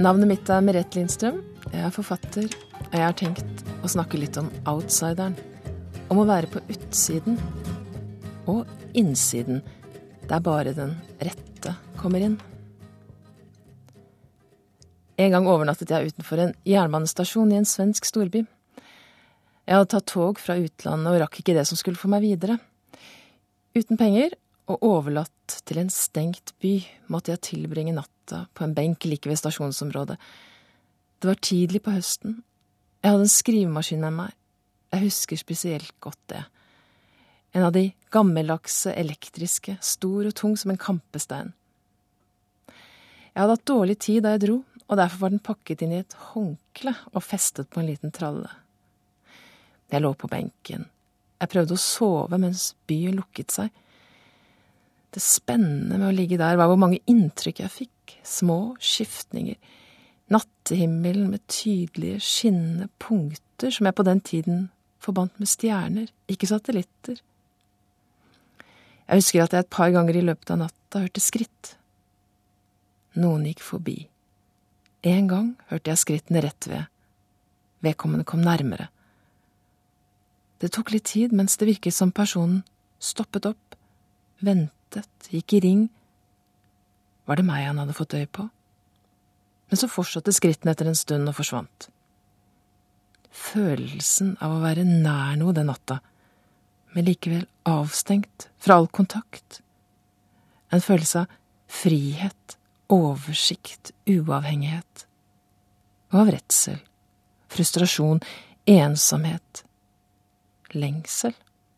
Navnet mitt Merete Lindstrøm. Jeg forfatter, og jeg har tenkt å snakke litt om outsideren. Om å være på utsiden og innsiden, der bare den rette kommer inn. En gang overnattet jeg utenfor en jernbanestasjon i en svensk storby. Jeg hadde tatt tog fra utlandet og rakk ikke det som skulle få meg videre. Uten penger og overlatt til en stengt by måtte jeg tilbringe natta på en benk like ved stasjonsområdet. Det var tidlig på høsten. Jeg hadde en skrivemaskin med meg. Jeg husker spesielt godt det. En av de gammeldagse elektriske, stor og tung som en kampestein. Jeg hadde hatt dårlig tid da jeg dro, og derfor var den pakket inn i et håndkle og festet på en liten tralle. Jeg lå på benken. Jeg prøvde å sove mens byen lukket seg. Det spennende med å ligge der var hvor mange inntrykk jeg fikk, små skiftninger, nattehimmelen med tydelige, skinnende punkter som jeg på den tiden forbandt med stjerner, ikke satellitter. Jeg husker at jeg et par ganger i løpet av natta hørte skritt. Noen gikk forbi. En gang hørte jeg skrittene rett ved. Vedkommende kom nærmere. Det tok litt tid mens det virket som personen stoppet opp, ventet, gikk i ring. Var det meg han hadde fått øye på? Men så fortsatte skrittene etter en stund og forsvant. Følelsen av å være nær noe den natta, men likevel avstengt fra all kontakt. En følelse av frihet, oversikt, uavhengighet. Og av redsel, frustrasjon, ensomhet, lengsel.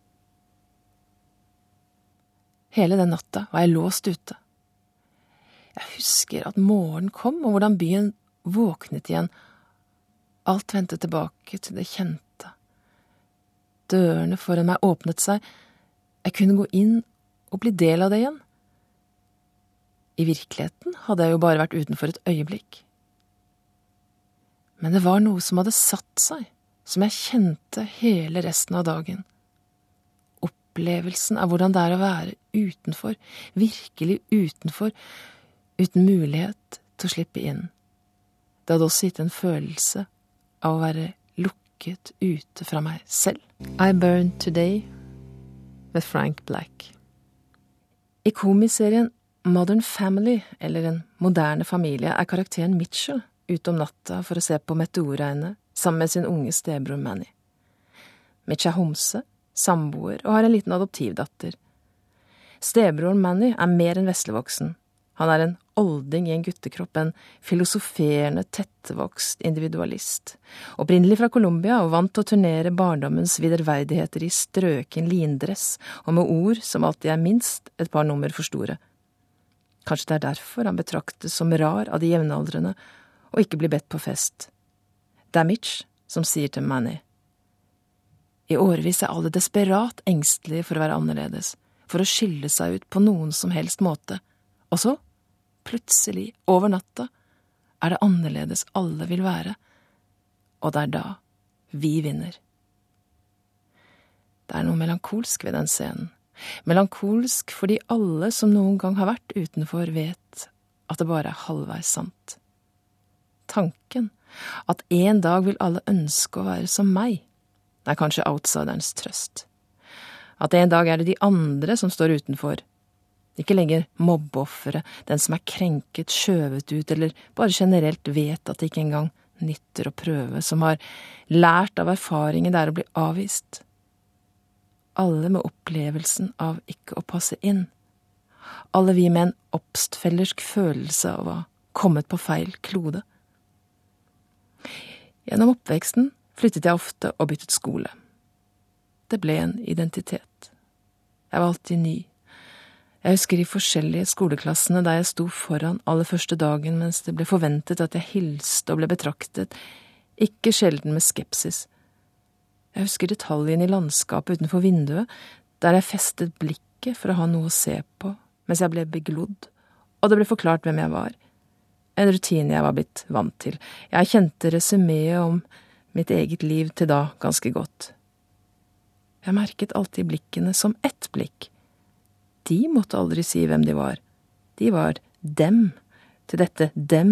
Hele den natta var jeg låst ute. Jeg husker at morgenen kom, og hvordan byen våknet igjen. Alt vendte tilbake til det kjente. Dørene foran meg åpnet seg. Jeg kunne gå inn og bli del av det igjen. I virkeligheten hadde jeg jo bare vært utenfor et øyeblikk. Men det var noe som hadde satt seg, som jeg kjente hele resten av dagen. Opplevelsen av hvordan det er å være utenfor, virkelig utenfor, uten mulighet til å slippe inn. Det hadde også gitt en følelse av å være lukket ute fra meg selv. I Burned Today med Frank Black. I komiserien Modern Family, eller En moderne familie, er karakteren Mitchell ute om natta for å se på meteorregnet sammen med sin unge stebror Manny. Mitch er homse, samboer og har en liten adoptivdatter. Stebroren Manny er mer enn veslevoksen. Han er en olding i en guttekropp, en filosoferende, tettvokst individualist. Opprinnelig fra Colombia og vant til å turnere barndommens viderverdigheter i strøken lindress og med ord som alltid er minst et par nummer for store. Kanskje det er derfor han betraktes som rar av de jevnaldrende og ikke blir bedt på fest. Det er Mitch som sier til Manny: I årevis er alle desperat engstelige for å være annerledes, for å skille seg ut på noen som helst måte. Og så, plutselig, over natta, er det annerledes alle vil være. Og det er da vi vinner. Det er noe melankolsk ved den scenen. Melankolsk fordi alle som noen gang har vært utenfor vet at det bare er halvveis sant. Tanken at en dag vil alle ønske å være som meg, er kanskje outsiderens trøst. At en dag er det de andre som står utenfor. Ikke lenger mobbeoffere, den som er krenket, skjøvet ut, eller bare generelt vet at det ikke engang nytter å prøve, som har lært av erfaringen det er å bli avvist. Alle med opplevelsen av ikke å passe inn. Alle vi med en oppstfellersk følelse av å ha kommet på feil klode. Gjennom oppveksten flyttet jeg ofte og byttet skole. Det ble en identitet. Jeg var alltid ny. Jeg husker de forskjellige skoleklassene der jeg sto foran aller første dagen mens det ble forventet at jeg hilste og ble betraktet, ikke sjelden med skepsis. Jeg husker detaljen i landskapet utenfor vinduet, der jeg festet blikket for å ha noe å se på, mens jeg ble beglodd, og det ble forklart hvem jeg var. En rutine jeg var blitt vant til. Jeg kjente resuméet om mitt eget liv til da ganske godt. Jeg merket alltid blikkene som ett blikk. De måtte aldri si hvem de var. De var dem. Til dette dem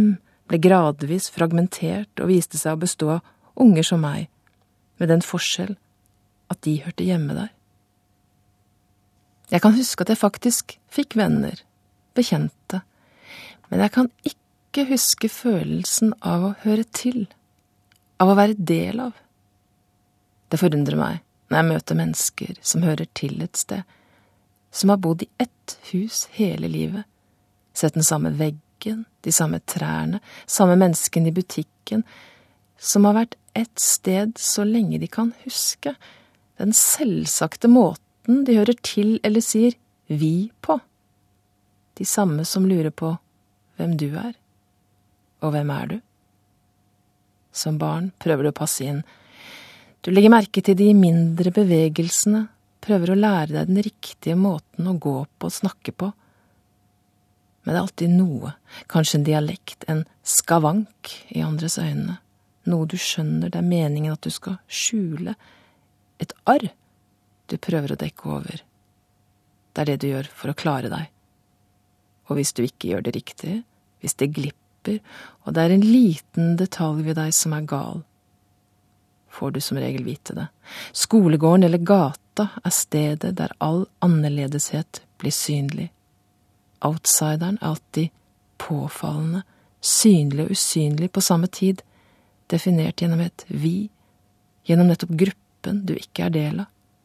ble gradvis fragmentert og viste seg å bestå av unger som meg, med den forskjell at de hørte hjemme der. Jeg kan huske at jeg faktisk fikk venner, bekjente, men jeg kan ikke huske følelsen av å høre til, av å være del av. Det forundrer meg når jeg møter mennesker som hører til et sted, som har bodd i ett hus hele livet, sett den samme veggen, de samme trærne, samme mennesken i butikken, som har vært ett sted så lenge de kan huske, den selvsagte måten de hører til eller sier vi på. De samme som lurer på hvem du er, og hvem er du? Som barn prøver du å passe inn. Du legger merke til de mindre bevegelsene, prøver å lære deg den riktige måten å gå på og snakke på. Men det er alltid noe, kanskje en dialekt, en skavank i andres øyne, noe du skjønner det er meningen at du skal skjule, et arr du prøver å dekke over. Det er det du gjør for å klare deg. Og hvis du ikke gjør det riktig, hvis det glipper, og det er en liten detalj ved deg som er gal, får du som regel vite det. Skolegården eller gata er stedet der all annerledeshet blir synlig. Outsideren er alltid påfallende, synlig og usynlig på samme tid, definert gjennom et vi, gjennom nettopp gruppen du ikke er del av.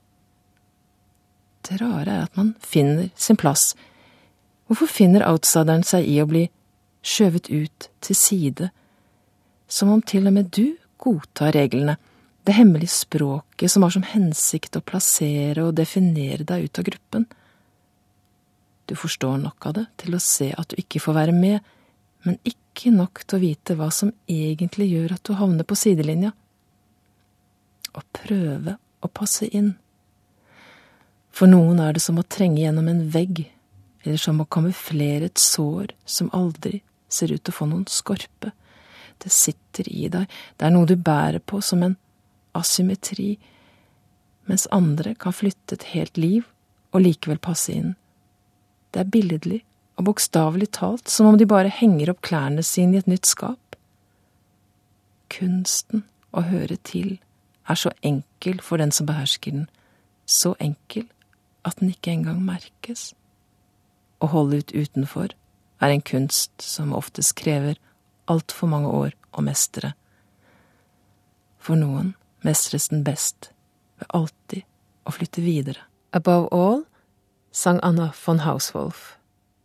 Det rare er at man finner sin plass. Hvorfor finner outsideren seg i å bli skjøvet ut til side, som om til og med du godtar reglene, det hemmelige språket som har som hensikt å plassere og definere deg ut av gruppen? Du forstår nok av det til å se at du ikke får være med, men ikke nok til å vite hva som egentlig gjør at du havner på sidelinja. Å prøve å passe inn. For noen er det som å trenge gjennom en vegg, eller som å kamuflere et sår som aldri ser ut til å få noen skorpe. Det sitter i deg, det er noe du bærer på som en asymmetri, mens andre kan flytte et helt liv og likevel passe inn. Det er billedlig og bokstavelig talt som om de bare henger opp klærne sine i et nytt skap. Kunsten å høre til er så enkel for den som behersker den, så enkel at den ikke engang merkes. Å holde ut utenfor er en kunst som oftest krever alt for mange år å mestre. For noen mestres den best ved alltid å flytte videre. Above all, sang Anna von Hauswolf.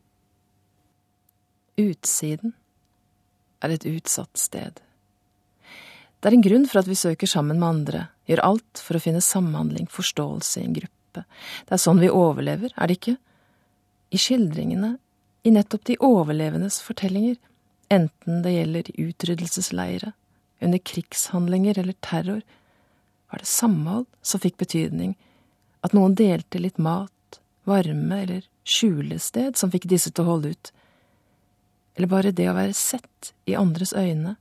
Utsiden er et utsatt sted. Det er en grunn for at vi søker sammen med andre, gjør alt for å finne samhandling, forståelse i en gruppe. Det er sånn vi overlever, er det ikke? I skildringene, i nettopp de overlevendes fortellinger, enten det gjelder utryddelsesleire, under krigshandlinger eller terror, var det samhold som fikk betydning, at noen delte litt mat, varme eller skjulested som fikk disse til å holde ut, eller bare det å være sett i andres øyne.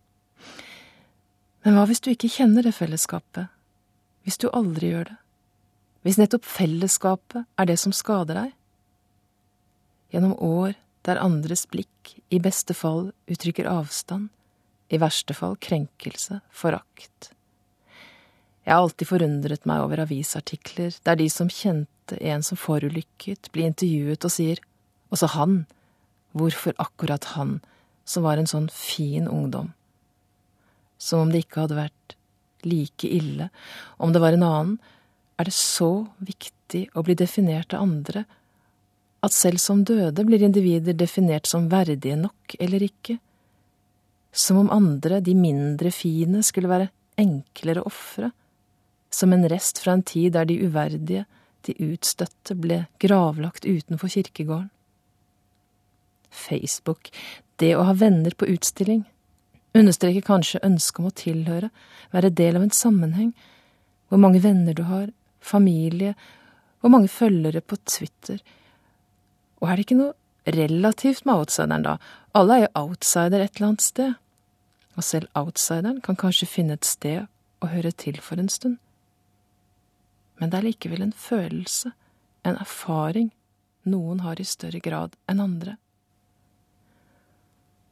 Men hva hvis du ikke kjenner det fellesskapet, hvis du aldri gjør det, hvis nettopp fellesskapet er det som skader deg? Gjennom år der andres blikk i beste fall uttrykker avstand, i verste fall krenkelse, forakt. Jeg har alltid forundret meg over avisartikler der de som kjente en som forulykket blir intervjuet og sier, også han, hvorfor akkurat han, som var en sånn fin ungdom? Som om det ikke hadde vært like ille, om det var en annen, er det så viktig å bli definert av andre, at selv som døde blir individer definert som verdige nok eller ikke, som om andre, de mindre fine, skulle være enklere å ofre, som en rest fra en tid der de uverdige, de utstøtte, ble gravlagt utenfor kirkegården. Facebook, det å ha venner på utstilling, understreker kanskje ønsket om å tilhøre, være del av en sammenheng, hvor mange venner du har, familie, hvor mange følgere på Twitter. Og er det ikke noe relativt med outsideren da? Alle er jo outsider et eller annet sted. Og selv outsideren kan kanskje finne et sted å høre til for en stund. Men det er likevel en følelse, en erfaring, noen har i større grad enn andre.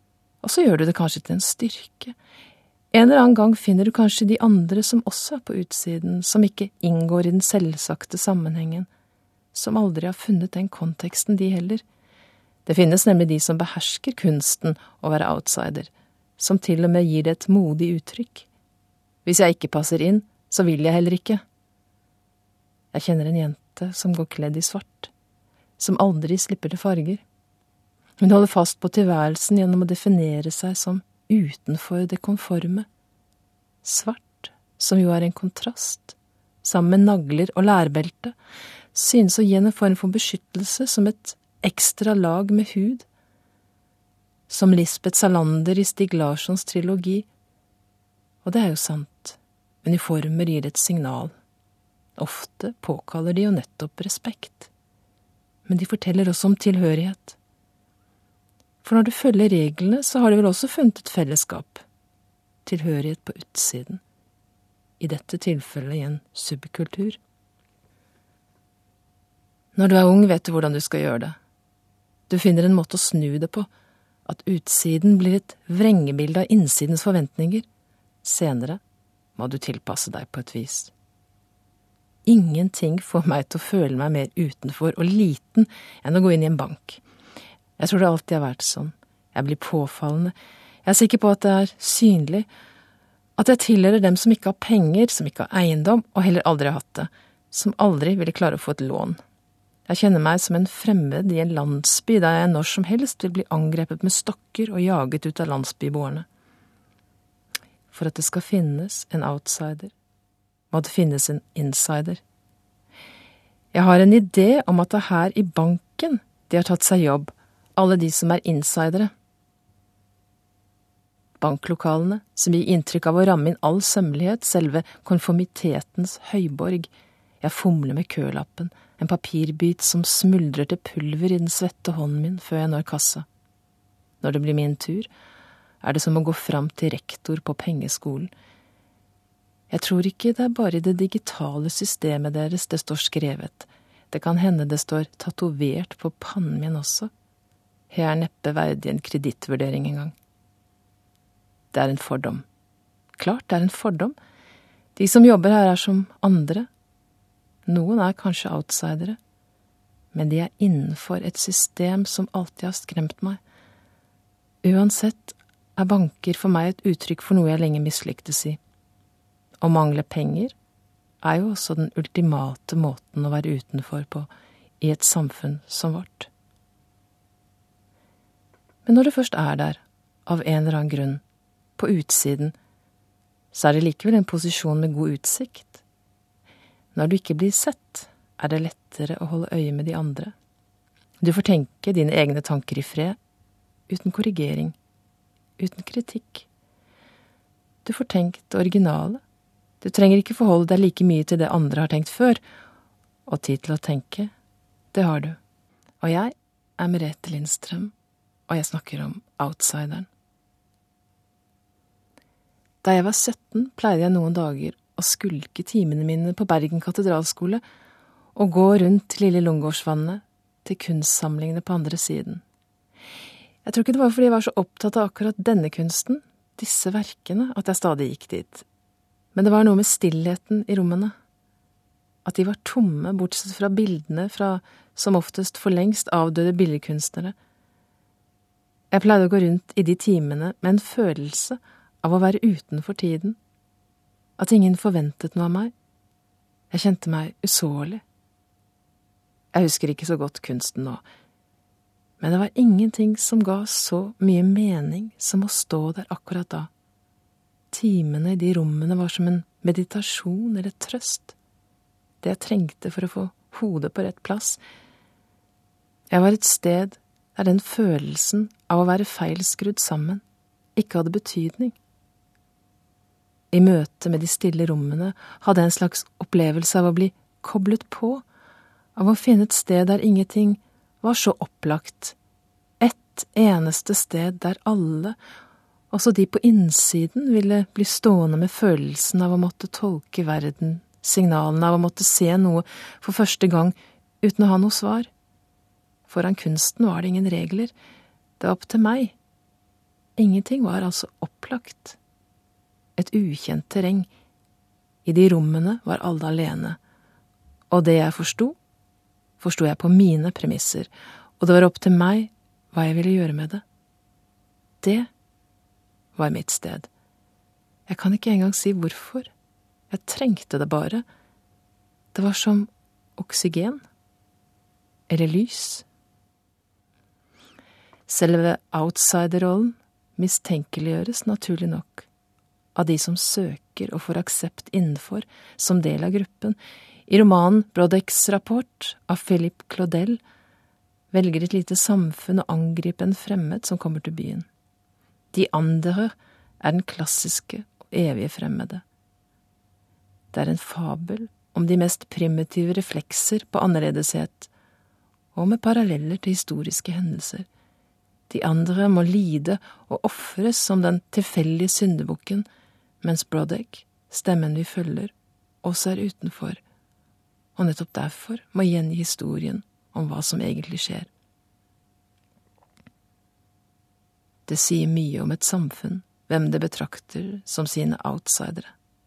Og så gjør du det kanskje til en styrke. En eller annen gang finner du kanskje de andre som også på utsiden, som ikke inngår i den selvsagte sammenhengen, som aldri har funnet den konteksten de heller. Det finnes nemlig de som behersker kunsten å være outsider, som til og med gir det et modig uttrykk. Hvis jeg ikke passer inn, så vil jeg heller ikke. Jeg kjenner en jente som går kledd i svart, som aldri slipper til farger. Hun holder fast på tilværelsen gjennom å definere seg som utenfor det konforme. Svart, som jo er en kontrast, sammen med nagler og lærbelte, synes å gi en form for beskyttelse som et ekstra lag med hud. Som Lisbeth Salander i Stig Larssons trilogi. Og det er jo sant, uniformer gir et signal. Ofte påkaller de jo nettopp respekt. Men de forteller også om tilhørighet. For når du følger reglene, så har du vel også funnet et fellesskap. Tilhørighet på utsiden. I dette tilfellet i en subkultur. Når du er ung, vet du hvordan du skal gjøre det. Du finner en måte å snu det på, at utsiden blir et vrengebilde av innsidens forventninger. Senere må du tilpasse deg på et vis. Ingenting får meg til å føle meg mer utenfor og liten enn å gå inn i en bank. Jeg tror det alltid har vært sånn. Jeg blir påfallende. Jeg er sikker på at det er synlig. At jeg tilhører dem som ikke har penger, som ikke har eiendom, og heller aldri har hatt det. Som aldri ville klare å få et lån. Jeg kjenner meg som en fremmed i en landsby der jeg når som helst vil bli angrepet med stokker og jaget ut av landsbyboerne. For at det skal finnes en outsider, må det finnes en insider. Jeg har en idé om at det er her i banken de har tatt seg jobb, alle de som er insidere. Banklokalene, som gir inntrykk av å ramme inn all sømmelighet, selve konformitetens høyborg. Jeg fomler med kølappen, en papirbit som smuldrer til pulver i den svette hånden min før jeg når kassa. Når det blir min tur, er det som å gå fram til rektor på pengeskolen. Jeg tror ikke det er bare i det digitale systemet deres det står skrevet. Det kan hende det står tatovert på pannen min også. Jeg er neppe verdig en kredittvurdering engang. Det er en fordom. Klart det er en fordom. De som jobber her er som andre. Noen er kanskje outsidere, men de er innenfor et system som alltid har skremt meg. Uansett er banker for meg et uttrykk for noe jeg lenge mislyktes i. Å mangle penger er jo også den ultimate måten å være utenfor på i et samfunn som vårt. Men når det først er der, av en eller annen grunn, på utsiden, så er det likevel en posisjon med god utsikt. Når du ikke blir sett, er det lettere å holde øye med de andre. Du får tenke dine egne tanker i fred, uten korrigering, uten kritikk. Du får tenkt det originale. Du trenger ikke forholde deg like mye til det andre har tenkt før, og tid til å tenke, det har du. Og jeg er Merete Lindstrøm, og jeg snakker om outsideren. Da jeg var 17, pleide jeg noen dager å skulke timene mine på Bergen katedralskole og gå rundt Lille Lungårdsvannet til kunstsamlingene på andre siden. Jeg tror ikke det var fordi jeg var så opptatt av akkurat denne kunsten, disse verkene, at jeg stadig gikk dit. Men det var noe med stillheten i rommene. At de var tomme, bortsett fra bildene fra som oftest for lengst avdøde billedkunstnere. Jeg pleide å gå rundt i de timene med en følelse av å være utenfor tiden. At ingen forventet noe av meg. Jeg kjente meg usårlig. Jeg husker ikke så godt kunsten nå, men det var ingenting som ga så mye mening som å stå der akkurat da. Timene i de rommene var som en meditasjon eller trøst. Det jeg trengte for å få hodet på rett plass. Jeg var et sted der den følelsen av å være feilskrudd sammen ikke hadde betydning. I møte med de stille rommene hadde jeg en slags opplevelse av å bli koblet på, av å finne et sted der ingenting var så opplagt. Et eneste sted der alle, også de på innsiden, ville bli stående med følelsen av å måtte tolke verden, signalene av å måtte se noe for første gang uten å ha noe svar. Foran kunsten var det ingen regler. Det var opp til meg. ingenting var altså opplagt. Et ukjent terreng. I de rommene var alle alene. Og det jeg forsto jeg på mine premisser, og det var opp til meg hva jeg ville gjøre med det. Det var mitt sted. Jeg kan ikke engang si hvorfor. Jeg trengte det bare. Det var som oksygen. Eller lys. Selve outsider-rollen mistenkeliggjøres naturlig nok av de som søker og får aksept innenfor som del av gruppen. I romanen Brodecs rapport av Philippe Claudel velger et lite samfunn å angripe en fremmed som kommer til byen. De andre er den klassiske og evige fremmede. Det er en fabel om de mest primitive reflekser på annerledeshet, og med paralleller til historiske hendelser. De andre må lide og offres som den tilfeldige syndebukken, mens Brodek, stemmen vi følger, også er utenfor, og nettopp derfor må gjengi historien om hva som egentlig skjer. Det sier mye om et samfunn, hvem det betrakter som sine outsidere.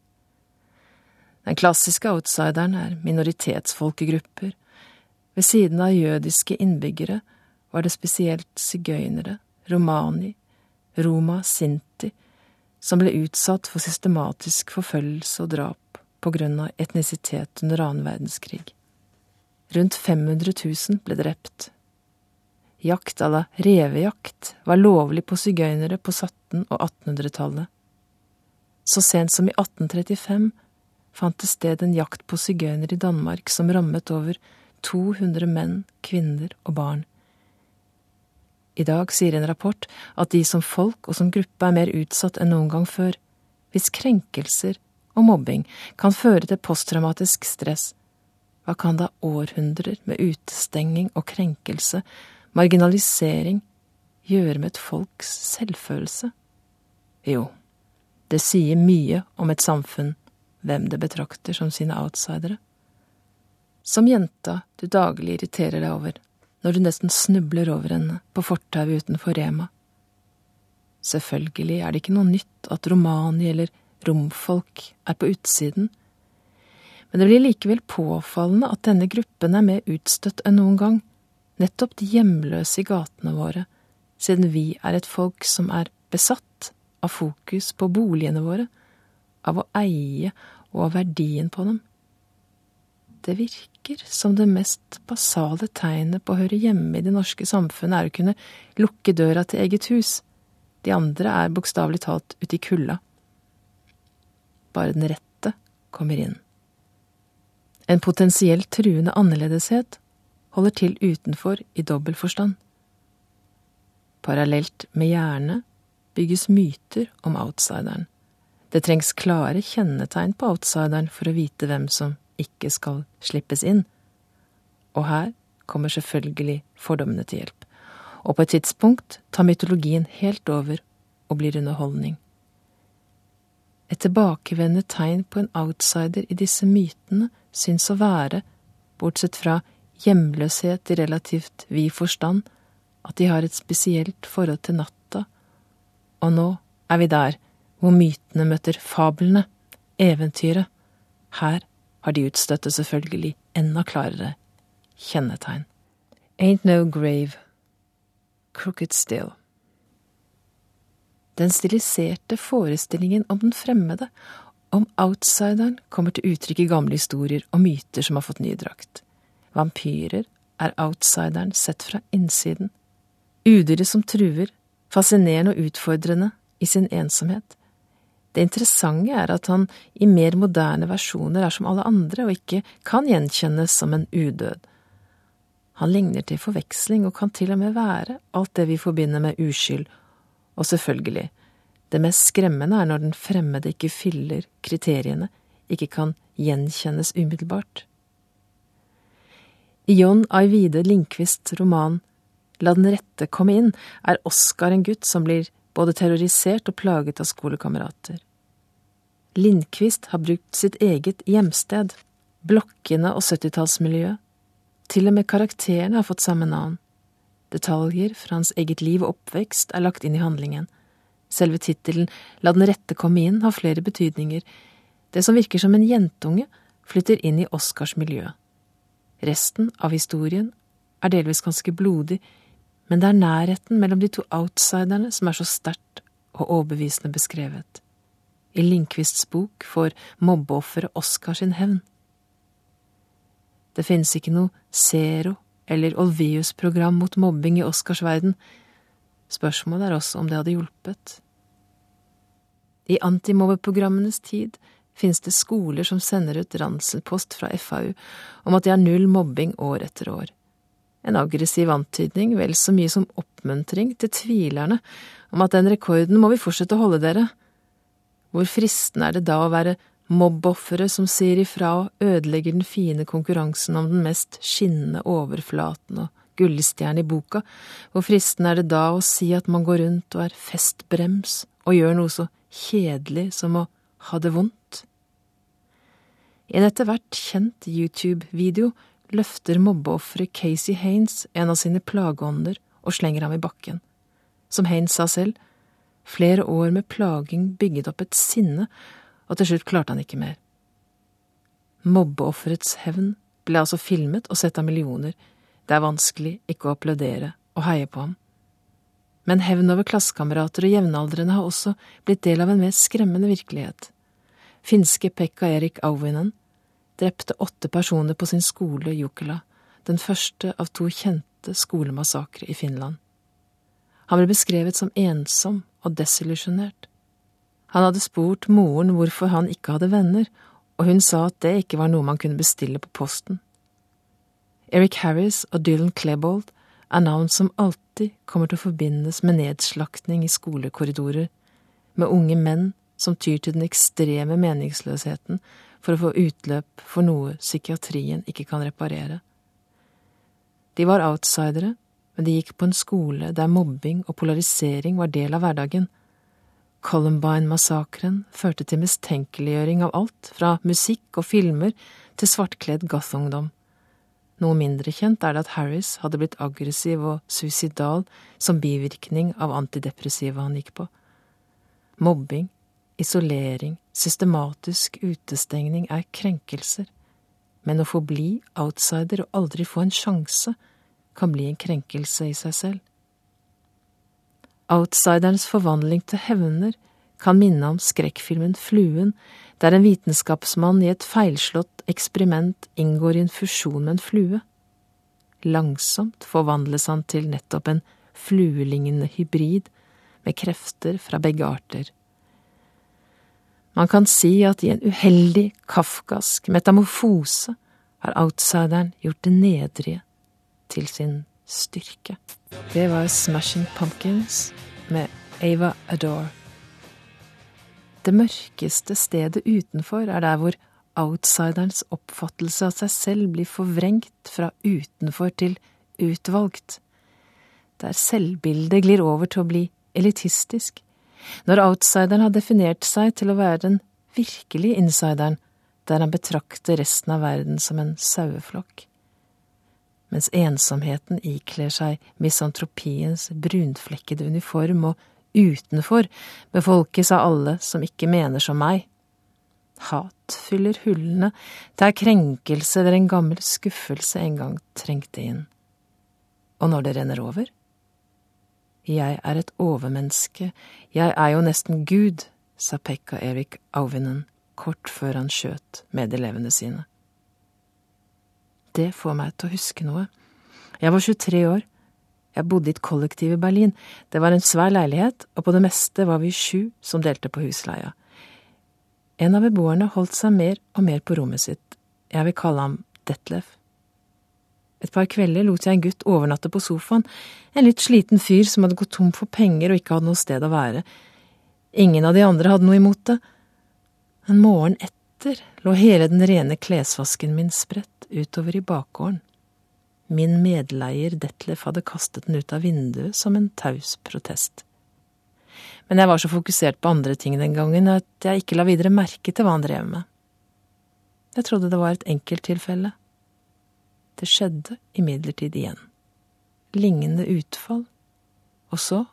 Den klassiske outsideren er minoritetsfolkegrupper. Ved siden av jødiske innbyggere var det spesielt sigøynere, romani, roma, sinti, som ble utsatt for systematisk forfølgelse og drap på grunn av etnisitet under annen verdenskrig. Rundt 500 000 ble drept. Jakt à la revejakt var lovlig på sigøynere på 1700- og 1800-tallet. Så sent som i 1835 fant det sted en jakt på sigøynere i Danmark som rammet over 200 menn, kvinner og barn. I dag sier en rapport at de som folk og som gruppe er mer utsatt enn noen gang før, hvis krenkelser og mobbing kan føre til posttraumatisk stress. Hva kan da århundrer med utestenging og krenkelse, marginalisering, gjøre med et folks selvfølelse? Jo, det sier mye om et samfunn, hvem det betrakter som sine outsidere. Som jenta du daglig irriterer deg over, når du nesten snubler over henne på fortauet utenfor Rema. Selvfølgelig er det ikke noe nytt at romani eller romfolk er på utsiden, men det blir likevel påfallende at denne gruppen er mer utstøtt enn noen gang, nettopp de hjemløse i gatene våre, siden vi er et folk som er besatt av fokus på boligene våre, av å eie og av verdien på dem. Det virker som det mest basale tegnet på å høre hjemme i det norske samfunnet er å kunne lukke døra til eget hus. De andre er bokstavelig talt ute i kulda. Bare den rette kommer inn. En potensielt truende annerledeshet holder til utenfor i dobbelt forstand. Parallelt med hjernet bygges myter om outsideren. Det trengs klare kjennetegn på outsideren for å vite hvem som ikke skal slippes inn. Og her kommer selvfølgelig fordommene til hjelp. Og på et tidspunkt tar mytologien helt over og blir underholdning. Et tilbakevendende tegn på en outsider i disse mytene syns å være, bortsett fra hjemløshet i relativt vid forstand, at de har et spesielt forhold til natta. Og nå er vi der, hvor mytene møter fabelene, eventyret. Her har de utstøtte selvfølgelig enda klarere kjennetegn. Ain't no grave, crooked still. Den stiliserte forestillingen om den fremmede, om outsideren, kommer til uttrykk i gamle historier og myter som har fått ny drakt. Vampyrer er outsideren sett fra innsiden. Udyret som truer, fascinerende og utfordrende i sin ensomhet. Det interessante er at han i mer moderne versjoner er som alle andre og ikke kan gjenkjennes som en udød. Han ligner til forveksling og kan til og med være alt det vi forbinder med uskyld. Og selvfølgelig, det mest skremmende er når den fremmede ikke fyller kriteriene, ikke kan gjenkjennes umiddelbart. I John Ajvide Lindqvists roman La den rette komme inn er Oskar en gutt som blir både terrorisert og plaget av skolekamerater. Lindqvist har brukt sitt eget hjemsted, blokkene og 70-tallsmiljøet. Til og med karakterene har fått samme navn. Detaljer fra hans eget liv og oppvekst er lagt inn i handlingen. Selve titelen «La den rette komme inn» har flere betydninger. Det som virker som en jentunge flytter inn i Oscars miljø. Resten av historien er delvis ganske blodig, men det er nærheten mellom de to outsiderne som er så sterkt og overbevisende beskrevet. I Lindqvists bok får mobbeofferet Oscar sin hevn. Det finnes ikke noe Zero eller Olvius-program mot mobbing i Oscars verden. Spørsmålet er også om det hadde hjulpet. I antimobbeprogrammenes tid finnes det skoler som sender ut ranselpost fra FAU om at de har 0 mobbing år etter år. En aggressiv antydning, vel så mye som oppmuntring til tvilerne om at den rekorden må vi fortsette å holde dere. Hvor fristende er det da å være mobboffere som sier ifra og ødelegger den fine konkurransen om den mest skinnende overflaten og gullstjerne i boka? Hvor fristende er det da å si at man går rundt og er festbrems og gjør noe så kjedelig som å ha det vondt? I en etter hvert kjent YouTube-video løfter mobbeofferet Casey Haynes en av sine plageånder og slenger ham i bakken. Som Haynes sa selv, flere år med plaging bygget opp et sinne, og til slutt klarte han ikke mer. Mobbeofferets hevn ble altså filmet og sett av millioner. Det er vanskelig ikke å applaudere og heie på ham. Men hevn over klassekamerater og jevnaldrende har også blitt del av en mer skremmende virkelighet. Finske Pekka Erik Auvinen drepte 8 personer på sin skole Jokela, den første av 2 kjente skolemassakre i Finland. Han ble beskrevet som ensom og desillusjonert. Han hadde spurt moren hvorfor han ikke hadde venner, og hun sa at det ikke var noe man kunne bestille på posten. Eric Harris og Dylan Klebold er navn som alltid kommer til å forbindes med nedslaktning i skolekorridorer, med unge menn som tyr til den ekstreme meningsløsheten for å få utløp for noe psykiatrien ikke kan reparere. De var outsidere, men de gikk på en skole der mobbing og polarisering var del av hverdagen. Columbine-massakren førte til mistenkeliggjøring av alt, fra musikk og filmer til svartkledd goth-ungdom. Noe mindre kjent er det at Harris hadde blitt aggressiv og suicidal som bivirkning av antidepressiva han gikk på. Mobbing, isolering, systematisk utestengning er krenkelser, men å forbli outsider og aldri få en sjanse kan bli en krenkelse i seg selv. Outsiderens forvandling til hevner kan minne om skrekkfilmen Fluen, der en vitenskapsmann i et feilslått eksperiment inngår i en fusjon med en flue. Langsomt forvandles han til nettopp en fluelignende hybrid med krefter fra begge arter. Man kan si at i en uheldig, kafkask metamorfose har outsideren gjort det nedrige til sin styrke. Det var Smashing Pumpkins med Ava Adore. Det mørkeste stedet utenfor er der hvor outsiderens oppfattelse av seg selv blir forvrengt fra utenfor til utvalgt. Der selvbildet glir over til å bli elitistisk. Når outsideren har definert seg til å være den virkelige insideren, der han betrakter resten av verden som en saueflokk. Mens ensomheten ikler seg misantropiens brunflekkede uniform, og utenfor befolkes av alle som ikke mener som meg. Hat fyller hullene, der krenkelse eller en gammel skuffelse en gang trengte inn. Og når det renner over? Jeg er et overmenneske, jeg er jo nesten Gud, sa Pekka Erik Auvinen kort før han skjøt medelevene sine. Det får meg til å huske noe. Jeg var 23 år. Jeg bodde i et kollektiv i Berlin. Det var en svær leilighet, og på det meste var vi 7 som delte på husleia. En av beboerne holdt seg mer og mer på rommet sitt. Jeg vil kalle ham Detlef. Et par kvelder lot jeg en gutt overnatte på sofaen, en litt sliten fyr som hadde gått tom for penger og ikke hadde noe sted å være. Ingen av de andre hadde noe imot det. En morgen etter lå hele den rene klesvasken min spredt utover i bakgården. Min medleier Detlef hadde kastet den ut av vinduet som en taus protest. Men jeg var så fokusert på andre ting den gangen at jeg ikke la videre merke til hva han drev med. Jeg trodde det var et enkelttilfelle. Det skjedde imidlertid igjen. Lignende utfall. Og så,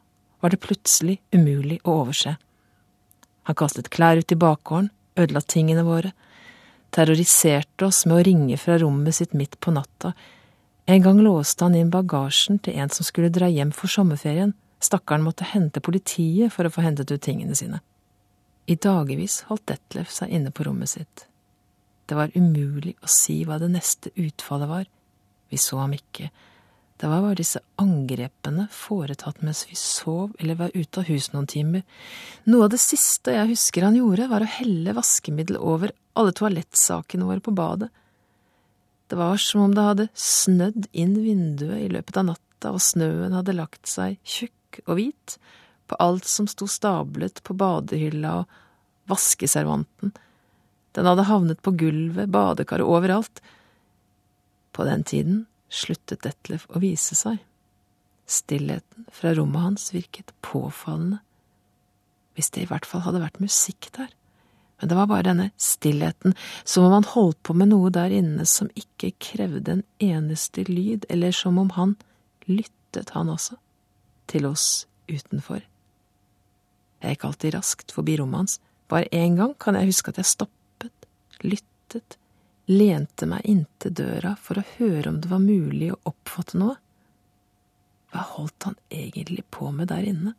var det plutselig umulig å overse. Han kastet klær ut i bakgården, ødela tingene våre, terroriserte oss med å ringe fra rommet sitt midt på natta. En gang låste han inn bagasjen til en som skulle dra hjem for sommerferien. Stakkaren måtte hente politiet for å få hentet ut tingene sine. I dagevis holdt Detlef seg inne på rommet sitt. Det var umulig å si hva det neste utfallet var. Vi så ham ikke. Det var bare disse angrepene foretatt mens vi sov eller var ute av hus noen timer. Noe av det siste jeg husker han gjorde, var å helle vaskemiddel over alle toalettsakene våre på badet. Det var som om det hadde snødd inn vinduet i løpet av natta, og snøen hadde lagt seg tjukk og hvit på alt som sto stablet på badehylla og vaskeservanten. Den hadde havnet på gulvet, badekaret overalt. På den tiden sluttet Detlef å vise seg. Stillheten fra rommet hans virket påfallende. Hvis det i hvert fall hadde vært musikk der. Men det var bare denne stillheten, som om han holdt på med noe der inne som ikke krevde en eneste lyd, eller som om han lyttet, han også, til oss utenfor. Jeg gikk alltid raskt forbi rommet hans. Bare en gang kan jeg huske at jeg stoppet, lyttet, lente meg inntil døra for å høre om det var mulig å oppfatte noe. Hva holdt han egentlig på med der inne?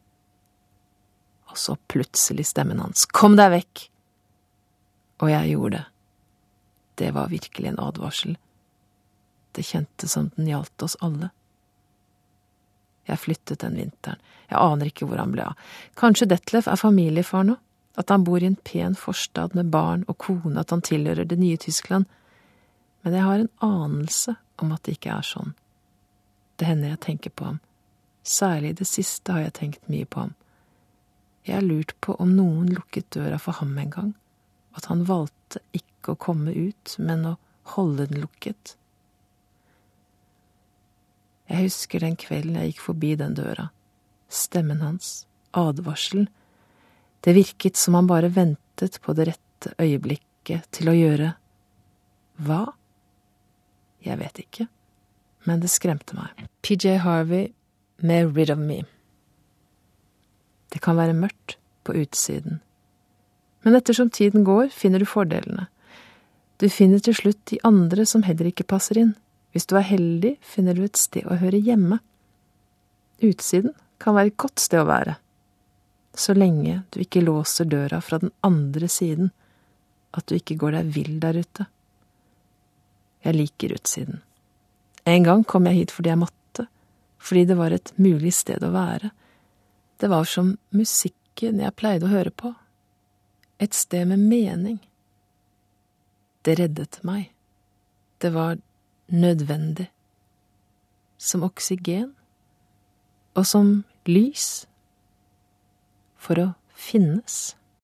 Og så plutselig stemmen hans. Kom deg vekk! Og jeg gjorde det. Det var virkelig en advarsel. Det kjentes som den gjaldt oss alle. Jeg flyttet den vinteren. Jeg aner ikke hvor han ble av. Kanskje Detlef er familiefar nå? At han bor i en pen forstad med barn og kone, at han tilhører det nye Tyskland. Men jeg har en anelse om at det ikke er sånn. Det hender jeg tenker på ham. Særlig det siste har jeg tenkt mye på ham. Jeg har lurt på om noen lukket døra for ham en gang, at han valgte ikke å komme ut, men å holde den lukket. Jeg husker den kvelden jeg gikk forbi den døra. Stemmen hans, advarselen. Det virket som han bare ventet på det rette øyeblikket til å gjøre hva? Jeg vet ikke, men det skremte meg. PJ Harvey med Rid of Me. Det kan være mørkt på utsiden. Men ettersom tiden går, finner du fordelene. Du finner til slutt de andre som heller ikke passer inn. Hvis du er heldig, finner du et sted å høre hjemme. Utsiden kan være et godt sted å være, så lenge du ikke låser døra fra den andre siden, at du ikke går deg vill der ute. Jeg liker utsiden. En gang kom jeg hit fordi jeg måtte, fordi det var et mulig sted å være. Det var som musikken jeg pleide å høre på. Et sted med mening. Det reddet meg. Det var nødvendig. Som oksygen. Og som lys. For å finnes.